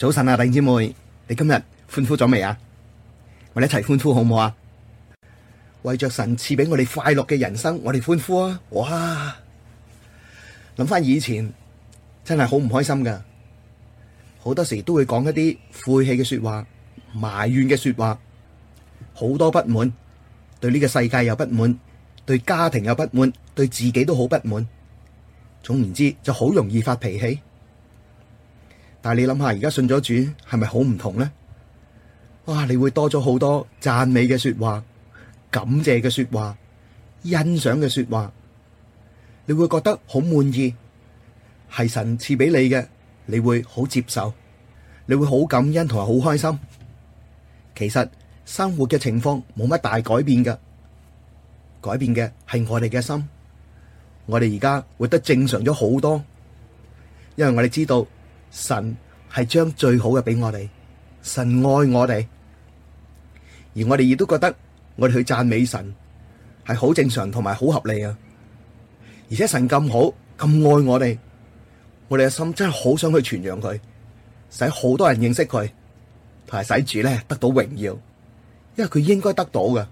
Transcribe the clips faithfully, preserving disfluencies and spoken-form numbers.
早晨啊，弟兄姊妹，你今日歡呼咗未啊？我哋一齊歡呼好唔好啊？為着神賜俾我哋快樂嘅人生，我哋歡呼啊！哇！諗翻以前真係好唔開心噶，好多時都會講一啲晦氣嘅說話、埋怨嘅說話，好多不滿，對呢個世界又不滿，對家庭又不滿，對自己都好不滿。總言之，就好容易發脾氣。但係你諗下，而家信咗主係咪好唔同呢？哇！你會多咗好多讚美嘅說話、感謝嘅說話、欣賞嘅說話，你會覺得好滿意，係神賜俾你嘅，你會好接受，你會好感恩同埋好開心。其實生活嘅情況冇乜大改變噶，改變嘅係我哋嘅心。我哋而家活得正常咗好多，因為我哋知道。神係將最好嘅俾我哋，神愛我哋，而我哋亦都覺得我哋去讚美神係好正常同埋好合理啊！而且神咁好咁愛我哋，我哋嘅心真係好想去傳揚佢，使好多人認識佢，同埋使主咧得到榮耀，因為佢應該得到嘅。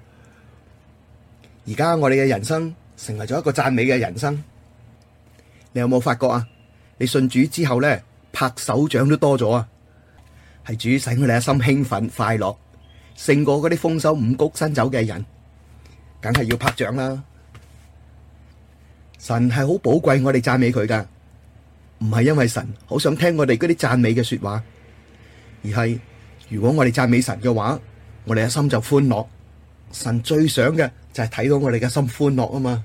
而家我哋嘅人生成為咗一個讚美嘅人生，你有冇發覺啊？你信主之後咧，拍手掌都多咗啊！係主使我哋嘅心興奮快樂，勝過嗰啲豐收五穀新酒嘅人，梗係要拍掌啦！神係好寶貴我哋讚美佢噶，唔係因為神好想聽我哋嗰啲讚美嘅說話，而係如果我哋讚美神嘅話，我哋嘅心就歡樂。神最想嘅就係睇到我哋嘅心歡樂啊嘛！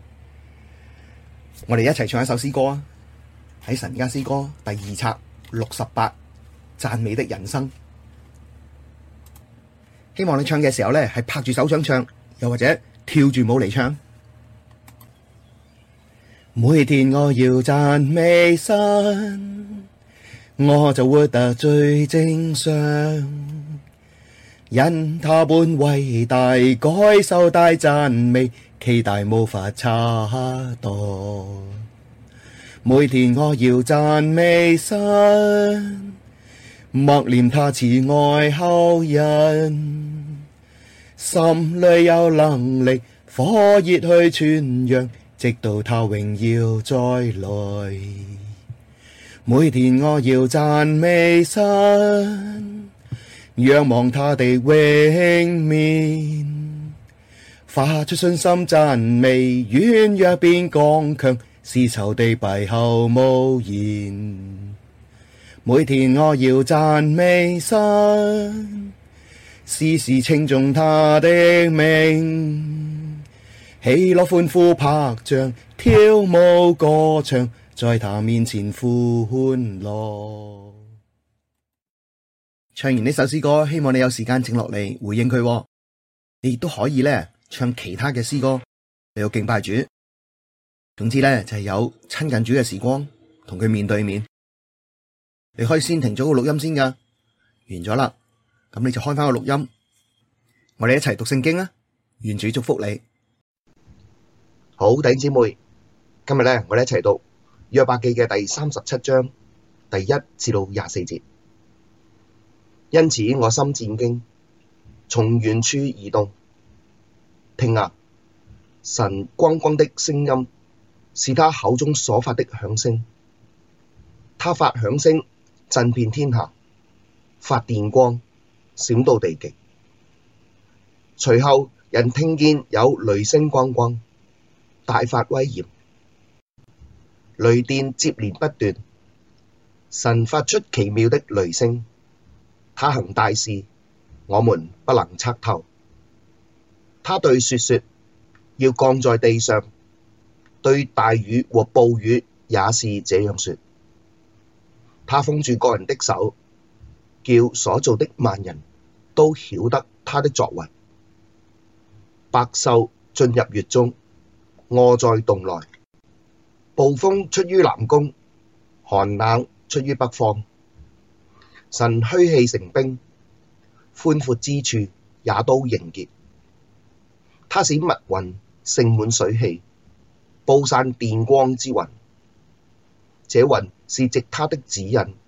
我哋一齊唱一首詩歌啊！喺神家詩歌第二冊六十八，讚美的人生。希望你唱嘅時候咧，係拍住手掌唱，又或者跳住舞嚟唱。每天我要讚美神，我就活得最正常，因他本偉大，該受大讚美，其大無法測度。每天我要讚美神，默念他慈愛厚恩，心裡有能力，火熱去傳揚，直到他榮耀再來。每天我要讚美神，仰望他的榮面，發出信心讚美，軟弱變剛強，使仇敵閉口無言。每天我要讚美神，時時稱頌他的名，喜樂歡呼拍掌，跳舞歌唱，在他面前歡樂。唱完呢首詩歌，希望你有時間靜落嚟回應佢。你亦都可以咧唱其他嘅詩歌，你要敬拜主。總之咧就係有親近主嘅時光，同佢面對面。你可以先停咗個錄音先噶，完咗啦，咁你就開翻個錄音，我哋一齊讀聖經啊！願主祝福你。好，弟兄姊妹，今日咧我哋一齊讀約伯記嘅第三十七章第一至到廿四節。因此我心戰兢，從原處移動。聽啊，神轟轟的聲音，是他口中所發的響聲。他發響聲，震遍天下，發電光，閃到地極。隨後人聽見有雷聲轟轟，大發威嚴，雷電接連不斷。神發出奇妙的雷聲，他行大事，我們不能測透。他對雪說，要降在地上，對大雨和暴雨也是這樣說。他封住各人的手，叫所造的萬人都曉得他的作為。百獸進入穴中，臥在洞內。暴風出於南宮，寒冷出於北方。神噓氣成冰，寬闊之處也都凝結。他使密雲盛滿水氣，布散電光之雲。這雲是藉他的指印，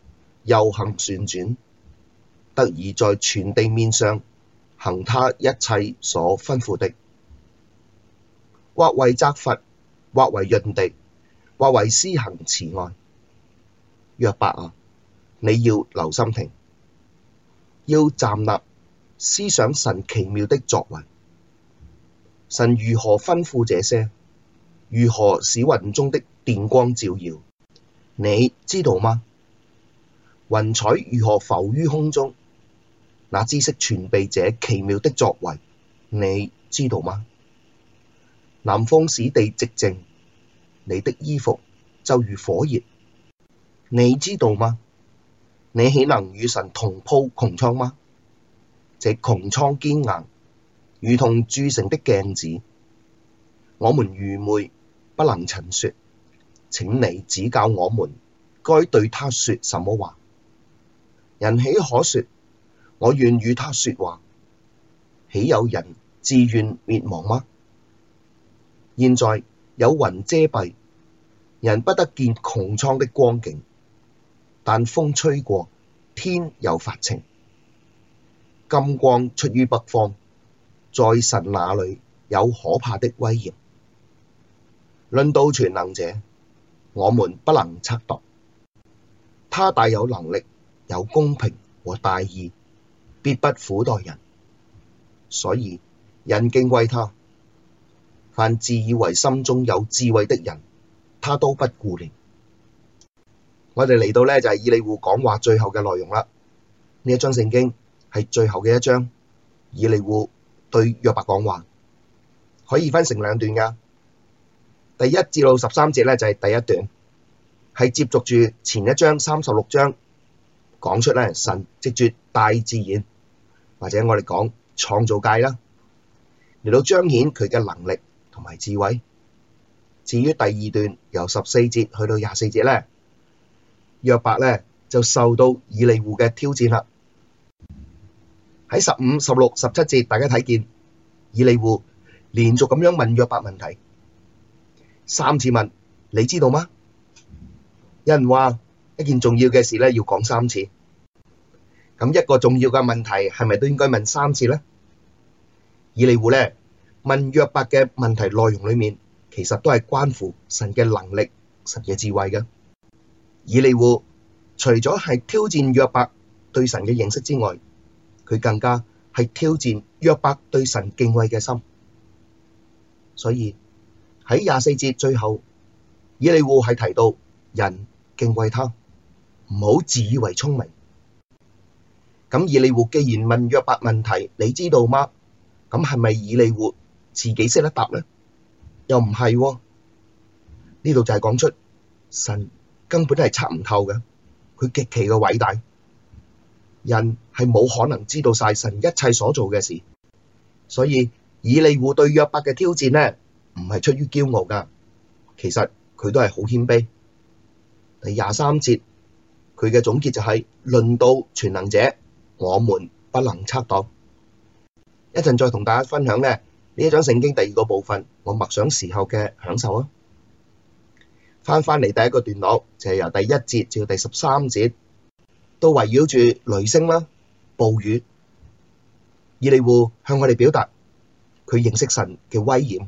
又行旋轉，得以在全地面上行他一切所吩咐的，或為責罰，或為潤地，或為施行慈愛。約伯啊，你要留心聽，要站立思想神奇妙的作為。神如何吩咐這些？如何使雲中的電光照耀？你知道嗎？雲彩如何浮於空中？那知識傳備這奇妙的作為，你知道嗎？南風使地寂靜，你的衣服就如火熱，你知道嗎？你豈能與神同鋪穹蒼嗎？這穹蒼堅硬，如同鑄成的鏡子。我們愚昧，不能陳說，請你指教我們，該對他說什麼話？人豈可說，我願與他說話？豈有人自願滅亡嗎？現在有雲遮蔽，人不得見穹蒼的光景，但風吹過，天又發晴。金光出於北方，在神那裡有可怕的威嚴。論到全能者，我們不能測度。他大有能力，有公平和大義，必不苦待人，所以人敬畏他。凡自以為心中有智慧的人，他都不顧念。我哋嚟到呢，就係以利戶講話最後嘅內容啦。呢一章聖經係最後嘅一章，以利戶對約伯講話，可以分成兩段噶。第一至到十三節呢，就係第一段，係接續住前一章三十六章講出咧神藉住大自然或者我哋講創造界啦，嚟到彰顯佢嘅能力同埋智慧。至於第二段由十四節去到廿四節咧，約伯咧就受到以利戶嘅挑戰啦。喺十五、十六、十七節，大家睇見以利戶連續咁樣問約伯問題，三次問，你知道嗎？有人話一件重要嘅事咧要講三次，咁一個重要嘅問題係咪都應該問三次咧？以利戶咧問約伯嘅問題內容裡面，其實都係關乎神嘅能力、神嘅智慧嘅。以利戶除咗係挑戰約伯對神嘅認識之外，佢更加係挑戰約伯對神敬畏嘅心。所以喺廿四節最後，以利戶係提到人敬畏他，唔好自以為聰明。咁以利戶既然問約伯問題，你知道嗎？咁係咪以利戶自己識得答咧？又唔係喎。呢度就係講出神根本係測唔透嘅，佢極其嘅偉大，人係冇可能知道晒神一切所做嘅事。所以以利戶對約伯嘅挑戰咧，唔係出於驕傲噶，其實佢都係好謙卑。第廿三節佢嘅總結就係、是、論到全能者，我們不能測度。一陣再同大家分享咧呢一章聖經第二個部分，我默想時候嘅享受啊。翻返嚟第一個段落就係、是、由第一節至到第十三節，都圍繞住雷聲啦、暴雨。以利戶向我哋表達佢認識神嘅威嚴。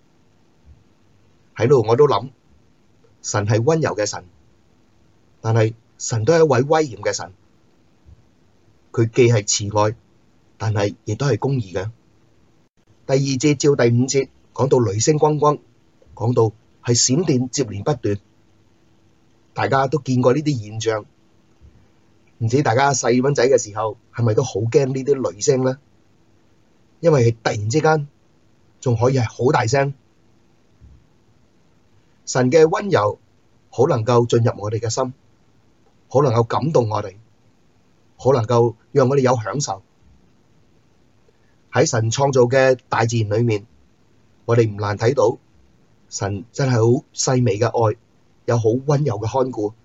喺度我都諗，神係溫柔嘅神，但係神都係一位威嚴嘅神。佢既係慈愛，但係亦都係公義嘅。第二節至第五節講到雷聲轟轟，講到係閃電接連不斷。大家都見過呢啲現象，唔知大家細蚊仔嘅時候係咪都好驚呢啲雷聲咧？因為係突然之間仲可以係好大聲。神嘅溫柔好能夠進入我哋嘅心，好能夠感動我哋，好能夠讓我哋有享受。喺神創造嘅大自然裏面，我哋唔難睇到神真係好細微嘅愛，有好溫柔嘅看顧。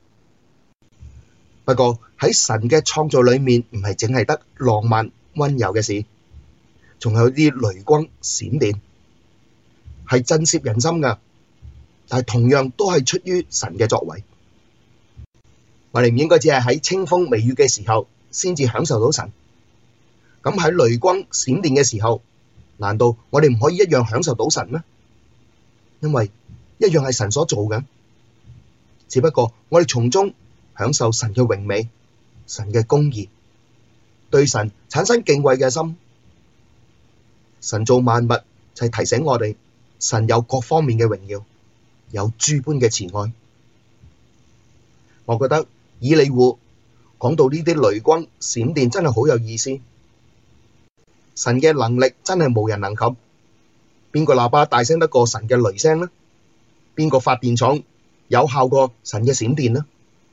不過喺神嘅創造裏面，唔係淨係得浪漫溫柔嘅事，仲有啲雷光閃電，係震懾人心噶。但係同樣都係出於神嘅作為。 我哋唔應該只係喺清風微雨嘅時候先至享受到神。咁喺雷光閃電嘅時候，難道我哋唔可以一樣享受到神咩？因為一樣係神所做嘅，只不過我哋從中享受神嘅榮美、神嘅公義，對神產生敬畏嘅心。神造萬物就係提醒我哋，神有各方面嘅榮耀，有諸般嘅慈愛。我覺得以利戶講到呢啲雷光閃電真係好有意思。神嘅能力真係無人能及，邊個喇叭大聲得過神嘅雷聲呢？邊個發電廠有效過神嘅閃電呢？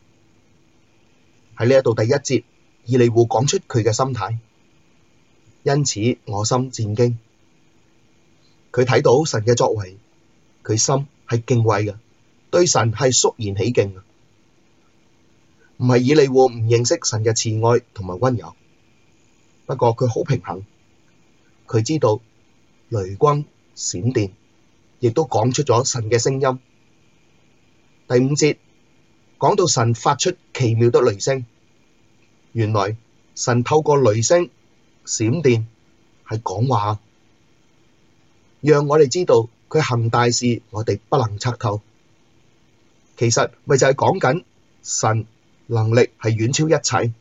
喺呢一度第一節，以利戶講出佢嘅心態，因此我心戰驚。佢睇到神嘅作為，佢心係敬畏嘅，對神係肅然起敬嘅。唔係以利戶唔認識神嘅慈愛同埋溫柔，不過佢好平衡。佢知道雷光閃電，亦都講出咗神嘅聲音。第五節講到神發出奇妙的雷聲，原來神透過雷聲、閃電係講話，讓我哋知道佢行大事，我哋不能測透。其實咪就係講緊神能力係遠超一切。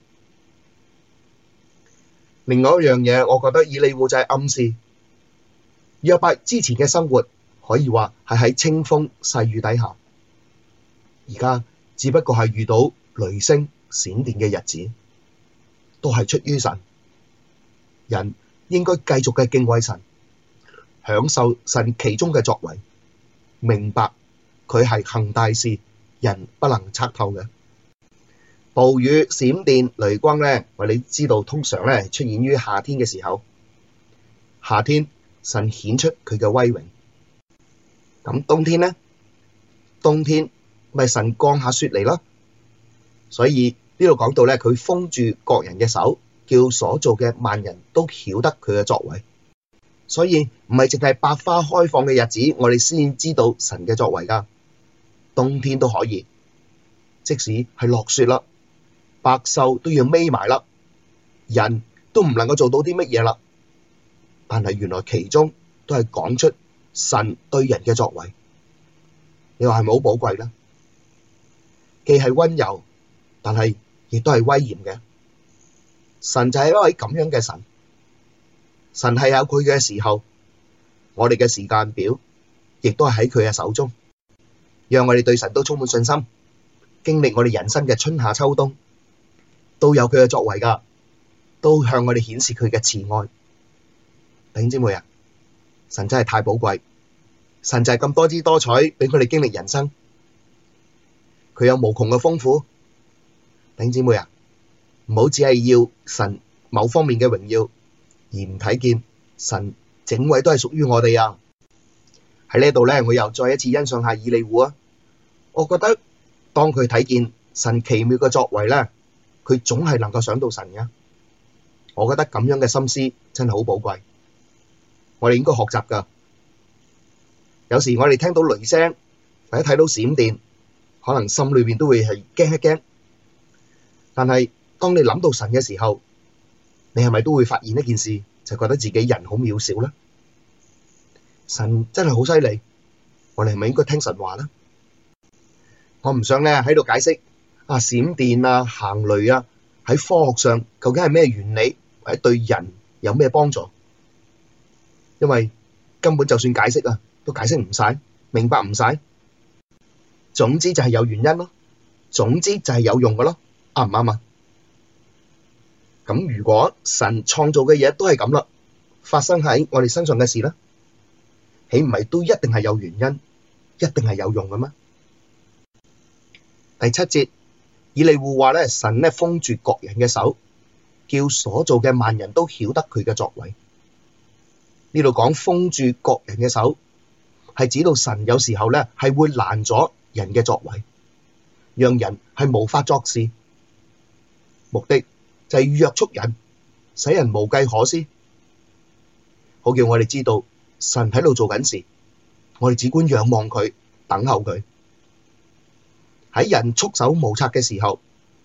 另外一樣嘢，我覺得以利戶就係暗示約伯之前嘅生活可以話係喺清風細雨底下，而家只不過係遇到雷聲閃電嘅日子，都係出於神。人應該繼續嘅敬畏神，享受神其中嘅作為，明白佢係行大事，人不能測透嘅。暴雨、閃電、雷光咧，我哋知道通常咧出現於夏天嘅時候。夏天神顯出佢嘅威榮。咁冬天咧，冬天咪神降下雪嚟咯。所以呢度講到咧，佢封住各人嘅手，叫所造嘅萬人都曉得佢嘅作為。所以唔係淨係百花開放嘅日子，我哋先知道神嘅作為噶。冬天都可以，即使係落雪啦。百獸都要眯埋啦，人都唔能夠做到啲乜嘢啦。但係原來其中都係講出神對人嘅作為，你話係咪好寶貴呢？既係溫柔，但係亦都係威嚴嘅。神就係一位咁樣嘅神，神係有佢嘅時候，我哋嘅時間表亦都係喺佢嘅手中，讓我哋對神都充滿信心，經歷我哋人生嘅春夏秋冬。都有佢嘅作為噶，都向我哋顯示佢嘅慈愛。弟兄姊妹啊，神真係太寶貴，神就係咁多姿多彩，俾佢哋經歷人生。佢有無窮嘅豐富。弟兄姊妹啊，唔好只係要神某方面嘅榮耀，而唔睇見神整位都係屬於我哋啊。喺呢度咧，我又再一次欣賞下以利戶啊。我覺得當佢睇見神奇妙嘅作為咧，佢總係能夠想到神嘅。我覺得咁樣嘅心思真係好寶貴，我哋應該學習噶。有時我哋聽到雷聲或者睇到閃電，可能心裏邊都會係驚一驚。但係當你諗到神嘅時候，你係咪都會發現一件事，就覺得自己人好渺小咧？神真係好犀利，我哋係咪應該聽神話咧？我唔想咧喺度解釋啊，閃電啊、行雷啊，喺科學上究竟係咩原理，或者對人有咩幫助？因為根本就算解釋啊，都解釋唔晒，明白唔晒。總之就係有原因咯，總之就係有用嘅咯，啱唔啱啊？咁如果神創造嘅嘢都係咁啦，發生喺我哋身上嘅事咧，豈唔係都一定係有原因，一定係有用嘅咩？第七節。以利戶話咧，神咧封住各人嘅手，叫所造嘅萬人都曉得佢嘅作為。呢度講封住各人嘅手，係指到神有時候咧係會攔咗人嘅作為，讓人係無法作事，目的就係約束人，使人無計可施，好叫我哋知道神喺度做緊事，我哋只管仰望佢，等候佢。喺人束手無策嘅時候，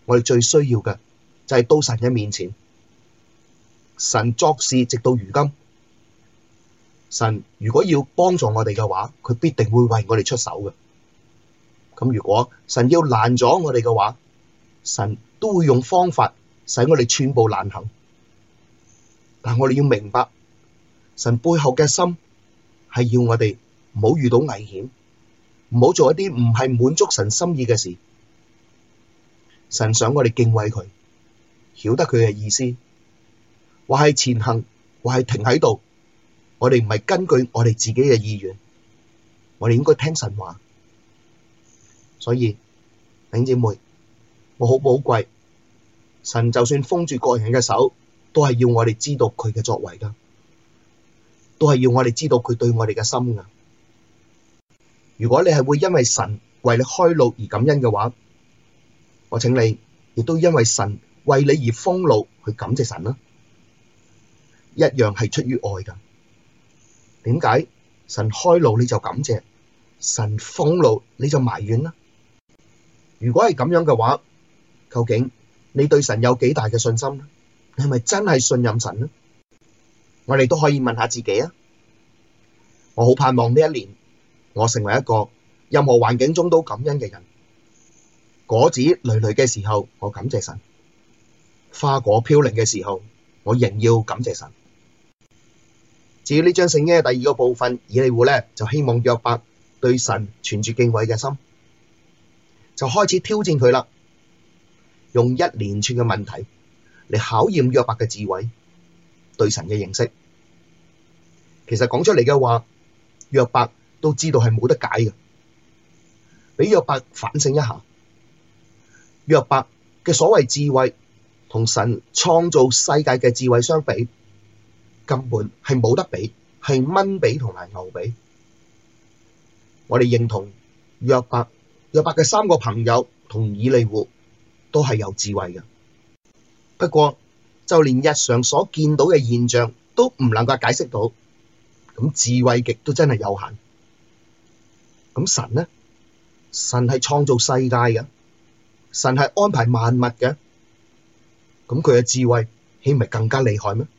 我哋最需要嘅就係到神嘅面前。神作事直到如今，神如果要幫助我哋嘅話，佢必定會為我哋出手嘅。咁如果神要攔阻我哋嘅話，神都會用方法使我哋寸步難行。但我哋要明白，神背後嘅心係要我哋唔好遇到危險，唔好做一啲唔係滿足神心意嘅事。神想我哋敬畏佢，曉得佢嘅意思，話係前行，話係停喺度。我哋唔係根據我哋自己嘅意願，我哋應該聽神話。所以弟兄姊妹，我好寶貴，神就算封住各人嘅手，都係要我哋知道佢嘅作為噶，都係要我哋知道佢對我哋嘅心噶。如果你係會因為神為你開路而感恩嘅話，我請你亦都因為神為你而封路去感謝神啦，一樣係出於愛噶。點解神開路你就感謝，神封路你就埋怨啦？如果係咁樣嘅話，究竟你對神有幾大嘅信心呢？你係咪真係信任神呢？我哋都可以問下自己啊！我好盼望呢一年，我成為一個任何環境中都感恩嘅人。果子累累嘅時候，我感謝神；花果飄零嘅時候，我仍要感謝神。至於呢章聖經嘅第二個部分，以利戶咧就希望約伯對神存住敬畏嘅心，就開始挑戰佢啦，用一連串嘅問題嚟考驗約伯嘅智慧，對神嘅認識。其實講出嚟嘅話，約伯都知道係冇得解嘅，俾約伯反省一下。約伯嘅所謂智慧同神創造世界嘅智慧相比，根本係冇得比，係蚊比同埋牛比。我哋認同約伯，約伯嘅三個朋友同以利戶都係有智慧嘅。不過就連日常所見到嘅現象都唔能夠解釋到，咁智慧極都真係有限。咁神呢？神係創造世界嘅，神係安排萬物嘅，咁佢嘅智慧豈唔係更加厲害咩？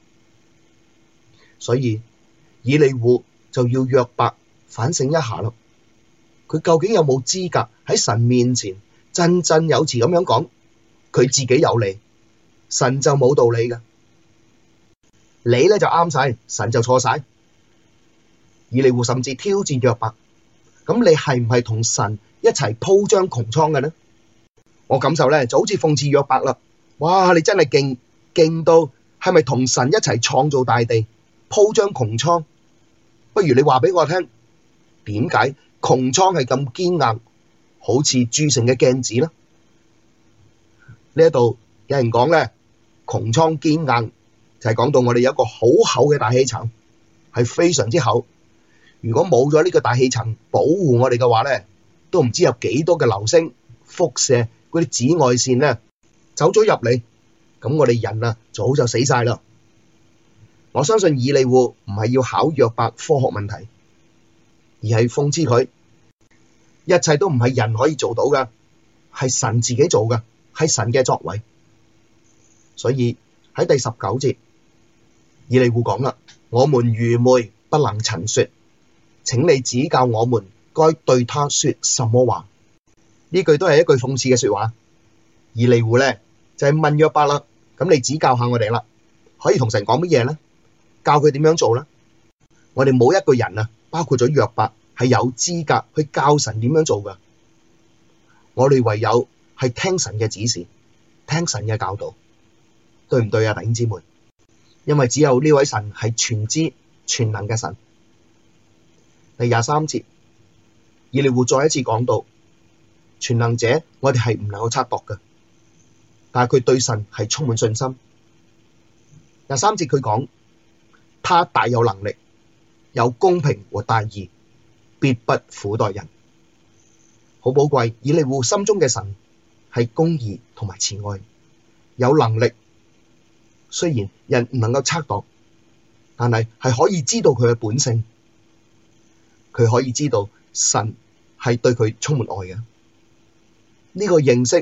所以以利戶就要約伯反省一下咯，佢究竟有冇資格喺神面前振振有詞咁樣講佢自己有理，神就冇道理嘅？你咧就啱晒，神就錯晒。以利戶甚至挑戰約伯，咁你係唔係同神一齊鋪張穹蒼嘅呢？我感受咧就好似諷刺約伯啦。哇，你真係勁勁到係咪同神一齊創造大地？鋪張穹蒼，不如你話俾我聽，點解穹蒼係咁堅硬，好似鑄成嘅鏡子呢？呢一度有人講咧，穹蒼堅硬就係講到我哋有一個好厚嘅大氣層，係非常之厚。如果冇咗呢個大氣層保護我哋嘅話咧，都唔知有幾多嘅流星輻射嗰啲紫外線咧走咗入嚟，咁我哋人啊早就死晒啦。我相信以利戶唔係要考約伯科學問題，而係諷刺佢，一切都唔係人可以做到噶，係神自己做噶，係神嘅作為。所以喺第十九節，以利戶講啦：我們愚昧，不能陳說，請你指教我們該對他說什麼話。呢句都係一句諷刺嘅說話。以利戶咧就係問約伯啦，咁你指教下我哋啦，可以同神講乜嘢咧？教佢點樣做咧？我哋冇一個人啊，包括咗約伯，係有資格去教神點樣做噶。我哋唯有係聽神嘅指示，聽神嘅教導，對唔對啊，弟兄姊妹？因為只有呢位神係全知全能嘅神。第廿三節，以利戶再一次講到，全能者我哋係唔能夠測度嘅，但係佢對神係充滿信心。廿三節佢講，他大有能力，有公平和大義，必不苦待人。好寶貴，以利戶心中嘅神係公義同埋慈愛，有能力。雖然人唔能夠測度，但係係可以知道佢嘅本性，佢可以知道神係對佢充滿愛嘅。呢個認識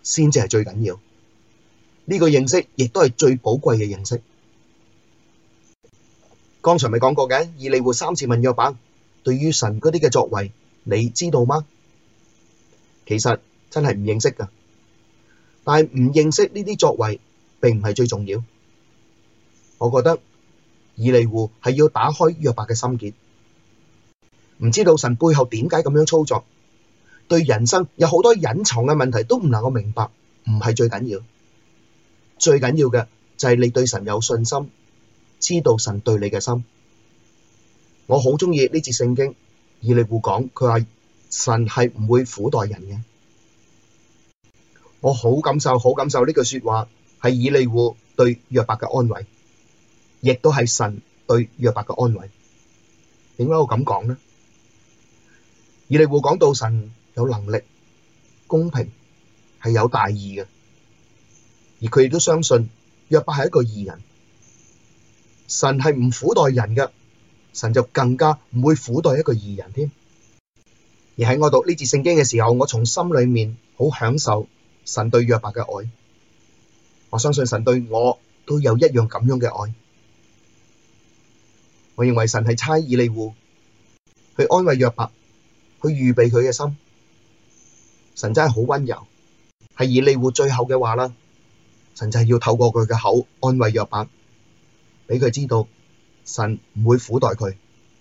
先至係最緊要。呢個認識亦都係最寶貴嘅認識。剛才咪講過嘅，以利戶三次問約伯，對於神嗰啲嘅作為，你知道嗎？其實真係唔認識噶，但係唔認識呢啲作為，並唔係最重要。我覺得以利戶係要打開約伯嘅心結，唔知道神背後點解咁樣操作，對人生有好多隱藏嘅問題都唔能夠明白，唔係最緊要。最緊要嘅就係你對神有信心，知道神對你嘅心。我好鍾意呢節聖經，以利戶講，佢話神係唔會苦待人嘅。我好感受，好感受呢句說話係以利戶對約伯嘅安慰，亦都係神對約伯嘅安慰。點解我咁講呢？以利戶講到神有能力、公平，係有大義嘅，而佢亦都相信約伯係一個義人。神係唔苦待人嘅，神就更加唔會苦待一個義人添。而喺我讀呢節聖經嘅時候，我從心裏面好享受神對約伯嘅愛。我相信神對我都有一樣咁樣嘅愛。我認為神係差以利戶去安慰約伯，去預備佢嘅心。神真係好溫柔，係以利戶最後嘅話啦。神就係要透過佢嘅口安慰約伯，俾佢知道神唔會苦待佢。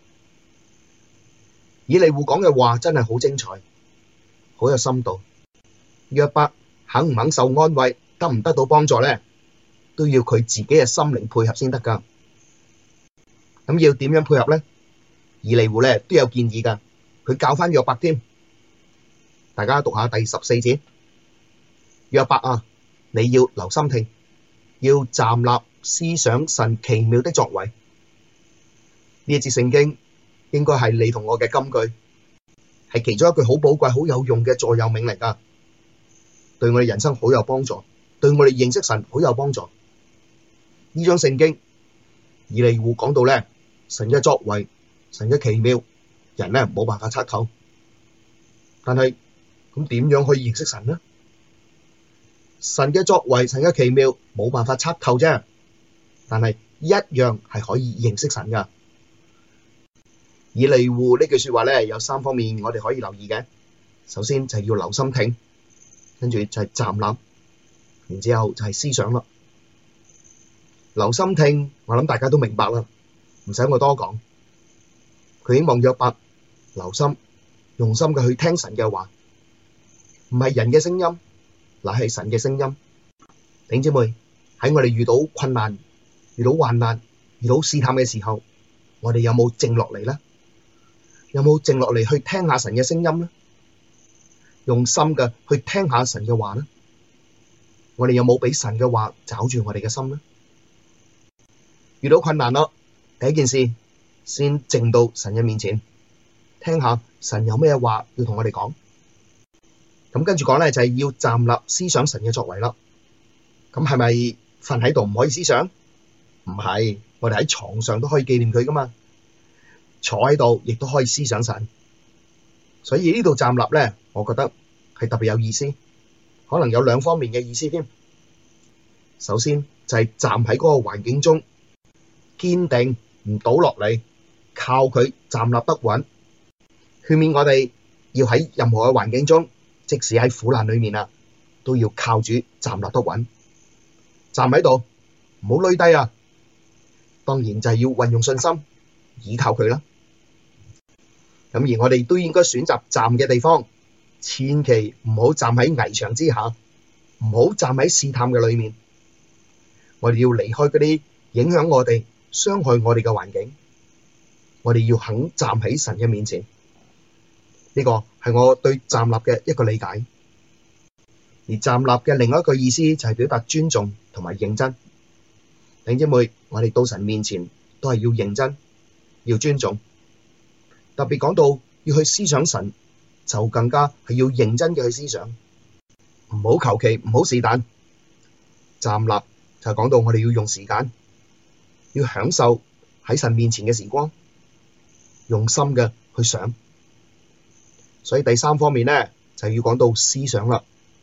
以利戶講嘅話真係好精彩，好有深度。約伯肯唔肯受安慰，得唔得到幫助咧，都要佢自己嘅心靈配合先得噶。咁要點樣配合咧？以利戶咧都有建議噶，佢教翻約伯添。大家讀下第十四節，約伯啊，你要留心聽，要站立思想神奇妙的作為。呢一節聖經應該係你同我嘅金句，係其中一句好寶貴、好有用嘅座右銘嚟噶，對我哋人生好有幫助，對我哋認識神好有幫助。呢章聖經以利戶講到咧，神嘅作為、神嘅奇妙，人咧冇辦法測透。但係咁點樣可以認識神呢？神嘅作為、神嘅奇妙冇辦法測透啫，但係一樣係可以認識神噶。以利戶呢句說話咧，有三方面我哋可以留意嘅。首先就係要留心聽，跟住就係站立，然之後就係思想啦。留心聽，我諗大家都明白啦，唔使我多講。佢希望約伯留心、用心嘅去聽神嘅話，唔係人嘅聲音，乃係神嘅聲音。弟兄姊妹，喺我哋遇到困難、遇到患難、遇到試探嘅時候，我哋有冇靜落嚟咧？有冇靜落嚟去聽下神嘅聲音咧？用心嘅去聽下神嘅話咧？我哋有冇俾神嘅話抓住我哋嘅心咧？遇到困難咯，第一件事先靜到神嘅面前，聽下神有咩話要同我哋講。咁跟住講咧就係要站立思想神嘅作為啦。咁係咪瞓喺度唔可以思想？唔係，我哋喺床上都可以紀念佢噶嘛。坐喺度亦都可以思想神。所以呢度站立咧，我覺得係特別有意思，可能有兩方面嘅意思添。首先就係站喺嗰個環境中，堅定唔倒落嚟，靠佢站立得穩。勸勉我哋要喺任何嘅環境中，即使喺苦難裏面啊，都要靠主站立得穩。站喺度，唔好攣低啊！當然就係要運用信心，倚靠佢啦。咁而我哋都應該選擇站嘅地方，千祈唔好站喺危牆之下，唔好站喺試探嘅裏面。我哋要離開嗰啲影響我哋、傷害我哋嘅環境。我哋要肯站喺神嘅面前。呢個係我對站立嘅一個理解。而站立嘅另外一個意思就係表達尊重同埋認真。弟兄姊妹，我哋到神面前都係要認真，要尊重。特別講到要去思想神，就更加係要認真嘅去思想，唔好求其，唔好是但。站立就係講到我哋要用時間，要享受喺神面前嘅時光，用心嘅去想。所以第三方面咧，就要講到思想啦。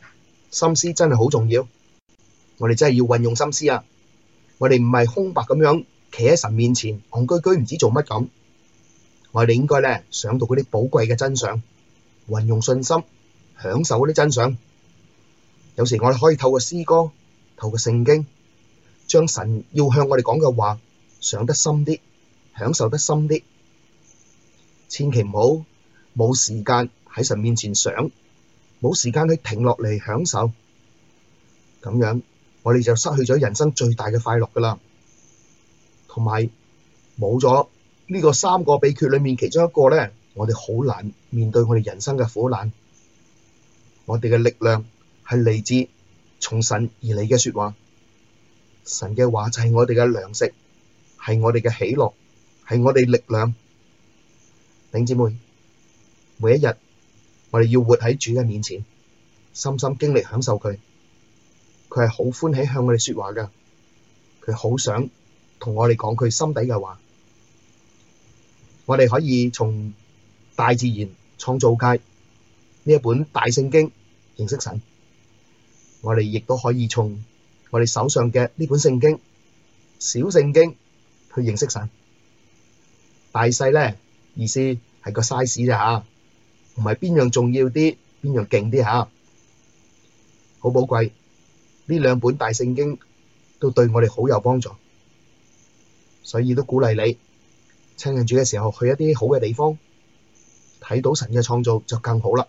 心思真係好重要，我哋真係要運用心思啊！我哋唔係空白咁樣企喺神面前，戇居居唔知做乜咁。我哋應該咧想到嗰啲寶貴嘅真相，運用信心，享受嗰啲真相。有時我哋可以透過詩歌，透過聖經，將神要向我哋講嘅話想得深啲，享受得深啲。千祈唔好冇時間喺神面前想，冇時間去停落嚟享受，咁樣我哋就失去咗人生最大嘅快樂噶啦。同埋冇咗呢個三個秘訣裏面其中一個咧，我哋好難面對我哋人生嘅苦難。我哋嘅力量係嚟自從神而嚟嘅說話，神嘅話就係我哋嘅糧食，係我哋嘅喜樂，係我哋力量。弟兄姊妹，每一日我哋要活喺主嘅面前，深深經歷享受佢。佢係好歡喜向我哋說話噶，佢好想同我哋講佢心底嘅話。我哋可以從大自然創造界呢一本大聖經認識神，我哋亦都可以從我哋手上嘅呢本聖經小聖經去認識神。大細咧，意思係個 size 咋吓，唔係邊樣重要啲，邊樣勁啲吓。好寶貴，呢兩本大聖經都對我哋好有幫助，所以都鼓勵你親近主嘅時候去一啲好嘅地方，睇到神嘅創造就更好啦。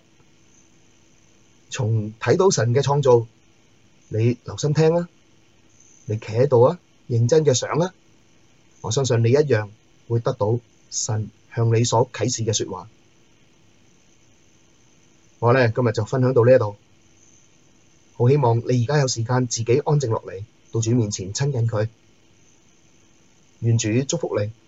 從睇到神嘅創造，你留心聽啊，你企喺度啊，認真嘅想啊，我相信你一樣會得到神向你所啟示嘅說話。我咧今日就分享到呢一度，好希望你而家有時間自己安靜落嚟，到主面前親近佢。願主祝福你。